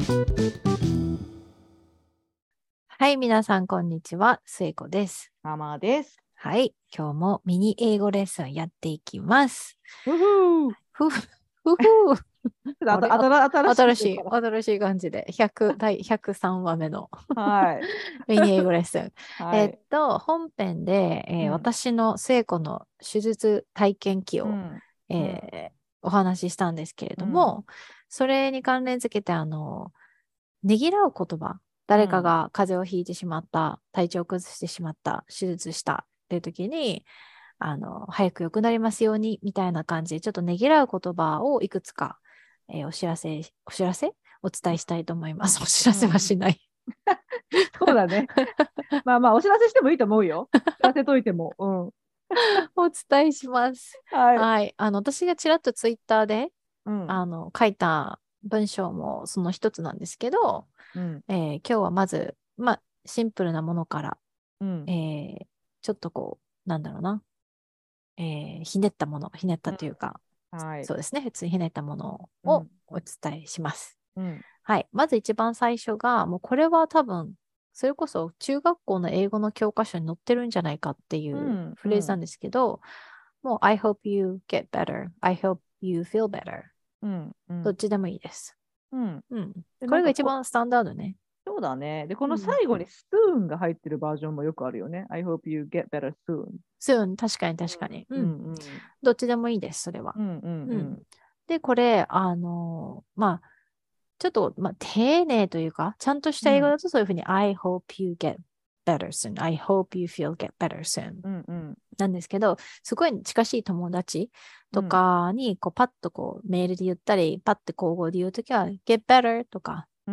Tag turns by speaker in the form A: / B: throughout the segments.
A: はい、皆さん、こんにちは。末子です。
B: ママです。
A: はい、今日もミニ英語レッスンやっていきます。
B: ふふー。
A: ふふ、ふふ。あれ、
B: 新しくしようか
A: 新しい感じで、第103話目の
B: な。はい。
A: ミニ英語レッスン。
B: はい。
A: 本編で、
B: うん。
A: 私の末子の手術体験記を、
B: うん。うん。
A: えお話ししたんですけれ
B: うん。
A: ども、それに関連づけて、ねぎらう言葉、誰かが風邪をひいてしまった、体調を崩してしまった、手術したっていう時に、早く良くなりますように、みたいな感じで、ちょっとねぎらう言葉をいくつか、お知らせお伝えしたいと思います。お知らせは
B: うん。
A: しない。
B: そうだね。まあまあ、お知らせしてもいいと思うよ。知らせといても。うん。
A: お伝えします。
B: はい。
A: はい。私がちらっとツイッターで、
B: うん。
A: 書いた文章もその一つなんですけど、
B: うん。
A: 今日はまず、まあ、シンプルなものから、
B: うん。
A: ちょっとなんだろうな、ひねったもの、ひねった
B: うん。
A: というか、
B: はい。
A: そうですね、普通にひねったものを
B: うん。
A: お伝えします。
B: うん。
A: はい。まず一番最初が、もうこれは多分、それこそ中学校の英語の教科書に載ってるんじゃないかっていう
B: うん。うん。
A: フレーズなんですけど、もう I hope you get better. I hope you feel better.
B: うん。うん。
A: どっちでもいいです。
B: うん。
A: うん。
B: で、
A: これが一番スタンダードね。
B: そうだね。で、この
A: うん。
B: 最後にスプーンが入ってるバージョンもよくあるよね。I hope you get better soon。
A: soon 確かに確かに。
B: うん。
A: うん。
B: うん。うん。
A: どっちでもいいです、それは。
B: うん。うん。
A: うん。
B: うん。
A: で、これ、まあ、ちょっと、まあ、丁寧というか、ちゃんとした英語だとそういうふうに I hope you get better soon. I hope you feel get better soon.
B: うん。うん。
A: なんですけど、すごい近しい友達と
B: うん。
A: かに、パッとメールで言ったり、パッて口語で言うときは、get better とか、
B: うん。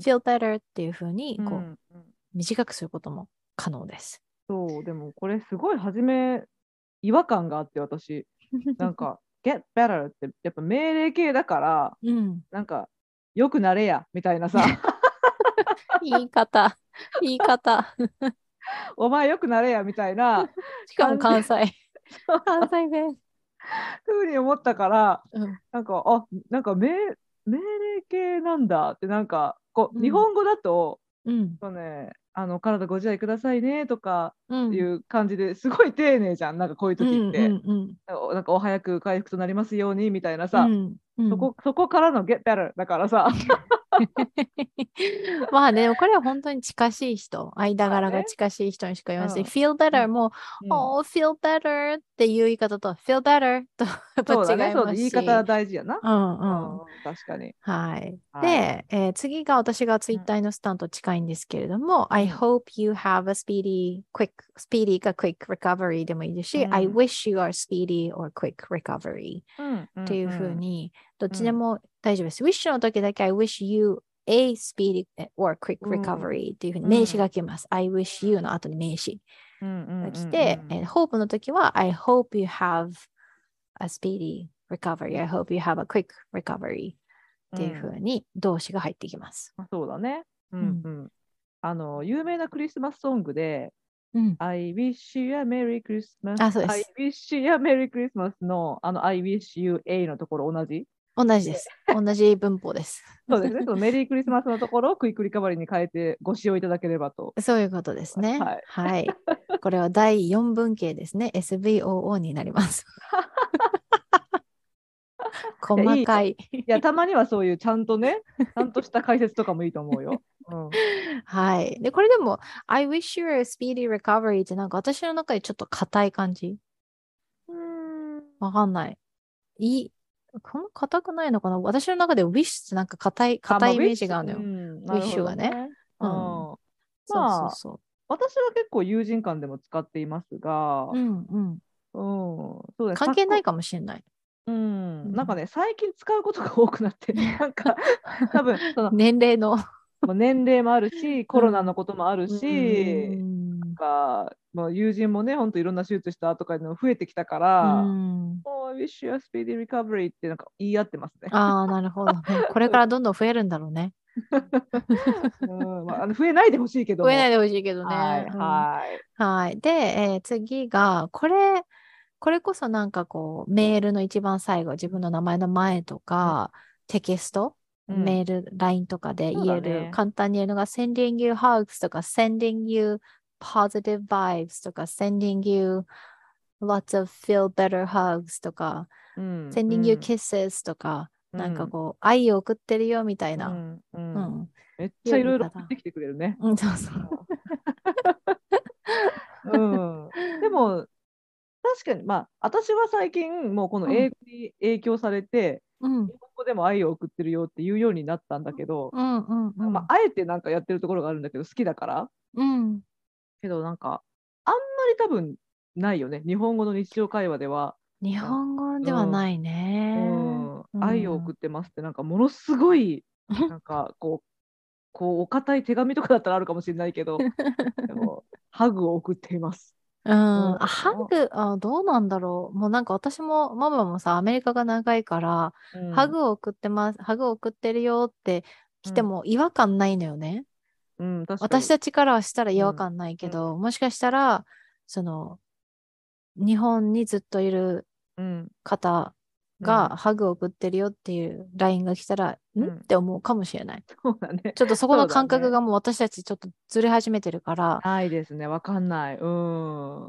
A: feel better っていうふうに、
B: うん。
A: 短くすることも可能です。
B: そう、でもこれすごい初め違和感があって私、なんか get better ってやっぱ命令形だから、
A: うん。
B: なんか良くなれやみたいなさ、
A: 言い方、言い方。
B: お前良くなれやみたいな
A: しかも
B: 感じ、
A: 関西。関西弁。
B: ふうに思ったから、
A: うん。
B: なんか命令形なんだって、なんかこう日
A: うん。
B: 本語だと、
A: うん。
B: そうね、体ご自愛くださいねとか
A: うん。
B: いう感じですごい丁寧じゃん、なんかこういう
A: うん。う
B: 時って。
A: ん。うん。
B: なんかお早く回復となりますようにみたいなさ、
A: うん。うん。
B: そこからの get better だからさ、
A: まあね、でもこれは本当に近しい人、間
B: まあね、
A: 柄が近しい人にしか言わないし、
B: うん、
A: feel
B: う
A: better
B: ん、
A: も、
B: うん。
A: oh, feel better っていう言い方と、feel better とやっぱ
B: そうだね、
A: 違い
B: そうだ、言い方
A: ますし、
B: 大事やな。
A: うんうん。
B: うん、確かに。
A: はい。
B: はい。
A: で、次が私がツイッ
B: うん、
A: ターのスタンと近いんですけれども、
B: う
A: I
B: ん、
A: hope you have a speedy か quick recovery でもいいですし、I
B: うん、
A: wish you are speedy or quick recovery
B: うん、うん、
A: っていうふう
B: うん、
A: に、どっ
B: うん、
A: ちでも大丈夫です。wish の時だけ I wish you a speedy or quick
B: うん、
A: recovery っていうふうに名詞
B: うん、
A: が来ます。I wish you の後に名詞
B: うん、うん、
A: が
B: うん、う
A: 来て、
B: ん、
A: hope の時は I hope you have a speedy recovery. I hope you have a quick recovery っていうふうに動詞が入ってきます。
B: そうだね。うん、
A: うん。
B: うん。有名なクリスマスソングで、
A: うん。
B: I wish you a Merry Christmas,
A: あ、そうで
B: I
A: す。
B: wish you a Merry Christmas のI wish you a のところ同じ
A: 同じで
B: で、
A: す。同じ文法です。
B: そうですね。そのメリークリスマスのところをクイックリカバリーに変えてご使用いただければと
A: そういうことで
B: 思います。
A: すね。
B: はい。
A: はい。これは第4文型ですね。SVOO になります。
B: いや、いいよ。
A: 細かい。
B: いや、たまにはそういうちゃんとね、ちゃんとした解説とかもいいと思うよ。うん。
A: はい。で、これでも、I wish you a speedy recovery ってなんか私の中でちょっと硬い感じ
B: うーん。
A: わかんない。いい、こんな硬くないのかな私の中で wish ってなんか硬
B: まあ、
A: いイメージ
B: ウィッシュ、う
A: があるのよ。
B: ん、なるほ
A: wish がね。
B: どね。う
A: うん。
B: ん。
A: そうそう
B: まあ、
A: そ
B: 私は結構友人間でも使っています
A: う。
B: が、
A: うんうん。
B: うん、そうね、
A: 関係ないかもしれない。
B: うん、なんか
A: うん、
B: ね、最近使うことが多くなって、なんか、多分その、
A: 年齢の
B: もう年齢もあるし、コロナの
A: うん。
B: こともある
A: う
B: し、
A: ん。
B: もう友人もね、本当いろんな手術したとかいうのも増えてきたか
A: う
B: ら、
A: ん。
B: Oh, I wish you a speedy recovery ってなんか言い合ってますね。
A: ああ、なるほどね。これからどんどん増えるんだろうね。
B: うん、まあ、増えないでほしいけど
A: 増えない
B: も。
A: でほしいけどね。
B: はい、
A: うん。
B: はい。
A: はい。で、次が、これこそなんかメールの一番最後、自分の名前の前とか、テキストメール、LINE とかで
B: そう
A: 言える、
B: だね。
A: 簡単に言えるのが sending you hugs とか sending you positive vibes とか sending you lots of feel better hugs とか
B: うん、う
A: sending you
B: ん、
A: kisses とか、
B: うん、
A: なんかこう、愛を送ってるよみたいな、
B: うん、うん。
A: うん、
B: めっちゃ
A: いう
B: いろいろ送っ
A: 言い方。
B: てきてくれるね。
A: うん、そうそう。
B: うん。でも、確かに、まあ、私は最近、もうこの
A: うん、
B: 英語に影響されて、
A: うん、
B: 日本語でも愛を送ってるよっていうようになったんだけど、
A: うん、うん、う
B: まあ、
A: ん。
B: あえてなんかやってるところがあるんだけど、好きだから。
A: うん。
B: けど、なんか、あんまり多分ないよね。日本語の日常会話では、
A: 日
B: なん
A: 本語では
B: うん、
A: ないね。う
B: 愛を送
A: ん。
B: ってますって、なんかものすごい、なんかこうお堅い手紙とかだったらあるかもしれないけど、でも、ハグを送っています。
A: うん。
B: うん、
A: ハグ、どうなんだろう。もうなんか私も、ママもさ、アメリカが長いから、
B: うん、
A: ハグを送ってます、ハグを送ってるよって来て
B: うん、
A: も違和感ないのよね。
B: うん、確かに。
A: 私たちからはしたら違
B: うん、
A: 和感ない
B: うん、
A: けど、もしかしたら、その、日本にずっといる
B: うん、
A: 方
B: うん、
A: がハグを送ってるよっていう LINE が来たら、っ
B: うん。
A: て思うかもしれない。
B: そうだね。
A: ちょっとそこ
B: そう
A: の
B: だね。
A: 感覚がもう私たちちょっとずれ始めてるから、
B: ないですね。わかんない。うん。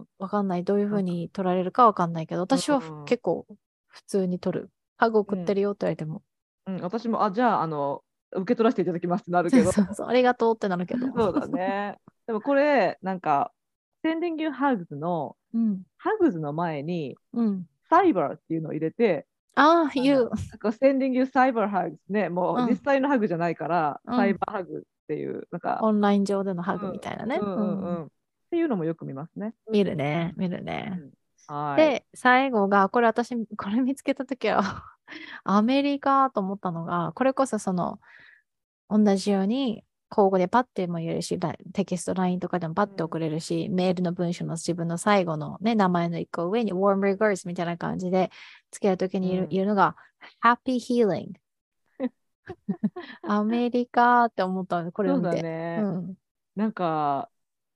A: わかんない。どういうふ
B: なんか、
A: うに取られるかわかんないけど、
B: う
A: 私は
B: ん、
A: 結構普通に取る。ハグ
B: うん、
A: 送ってるよって言われても。
B: うん。私も、じゃあ、受け取らせていただきますってなる
A: そ
B: けど。
A: うそうそう、ありがとうってなるけど。
B: そうだね。でもこれ、なんか、Sending You Hugs の、
A: うん、
B: Hugs の前に、
A: うん。
B: サイバーっていうのを入れて、
A: ああ、言う。
B: Sending You Cyber Hugs ね、もう実
A: うん、
B: 際のハグじゃないから、サイ
A: うん。
B: バーハグっていう、なんか、
A: オンライン上でのハグみ
B: うん、
A: たいなね。
B: うん、
A: う
B: うん、う
A: ん。
B: ん。っていうのもよく見ますね。
A: 見るね、見るね。
B: うん。はい。
A: で、最後が、これ私、これ見つけたときはアメリカと思ったのが、これこそその、同じように、交互でパッても言えるし、テキスト LINE とかでもパッて
B: うん、
A: 送れるし、メールの文章の自分の最後のね、名前の一個上に warm regards みたいな感じで付けるときに
B: うん
A: 言うのが happy healing。アメリカって思ったの、これ
B: そうだ
A: を見て。う
B: ね。
A: ん。
B: なんか、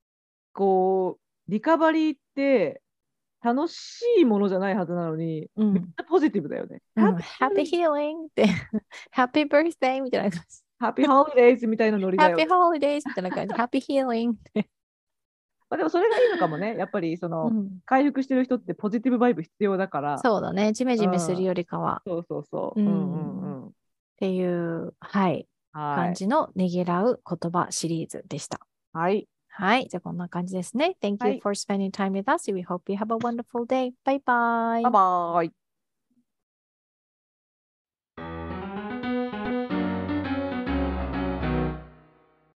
B: リカバリーって楽しいものじゃないはずなのに、めっ
A: うん。
B: ちゃポジティブだよね。
A: うん。happy healing って happy birthday みたいな感じ。
B: ハッピーホリデイズみたいなノリだよ
A: happy
B: ね。
A: holidays みたいな感じ。happy healing って。
B: まあでもそれがいいのかもね。やっぱり
A: うん。
B: 回復してる人ってポジティブバイブ必要だから、
A: そうだね。ジメ
B: う
A: ジメする
B: ん。
A: よりかは。
B: そうそうそ
A: う
B: う。うんうん
A: ん。っ
B: うん。
A: ていう、はい、
B: はい。
A: 感じのねぎらう言葉シリーズでした。
B: はい。
A: はい。じゃあこんな感じですね。Thank
B: は
A: you
B: い。
A: for spending time with us. We hope you have a wonderful day. Bye bye.
B: バイバーイ。